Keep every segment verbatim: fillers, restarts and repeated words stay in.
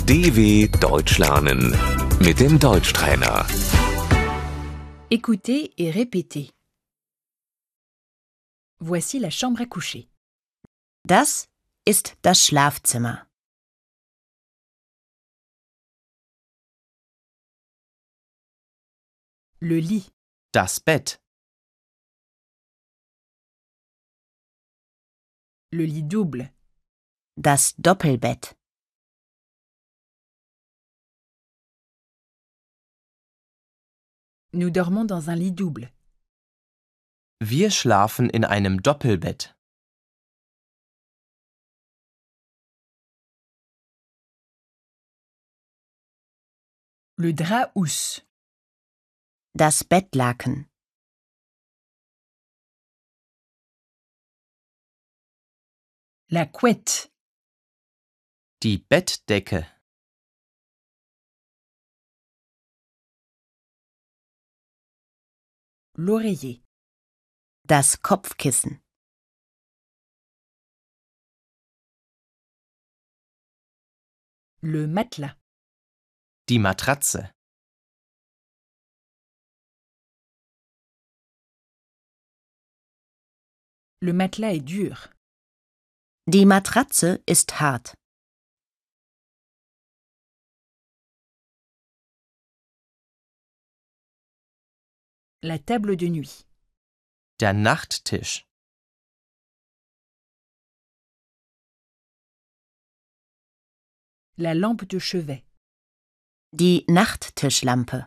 D W Deutsch lernen mit dem Deutschtrainer. Écoutez et répétez. Voici la chambre à coucher. Das ist das Schlafzimmer. Le lit, Das Bett. le lit double, Das Doppelbett. nous dormons dans un lit double. Wir schlafen in einem Doppelbett. Le drap housse, Das Bettlaken. la couette, Die Bettdecke. l'oreiller, Das Kopfkissen. le matelas, Die Matratze. le matelas est dur. Die Matratze ist hart. La table de nuit, Der Nachttisch. la lampe de chevet, Die Nachttischlampe.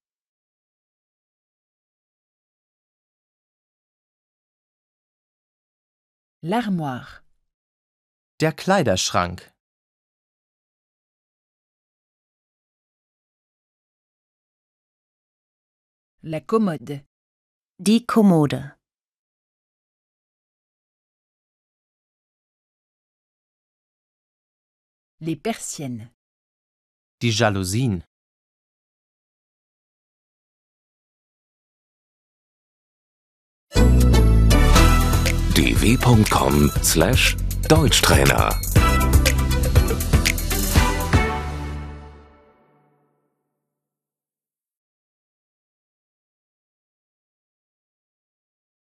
l'armoire, Der Kleiderschrank. la commode, Die Kommode. les persiennes, Die Jalousien. d w punkt com slash Deutschtrainer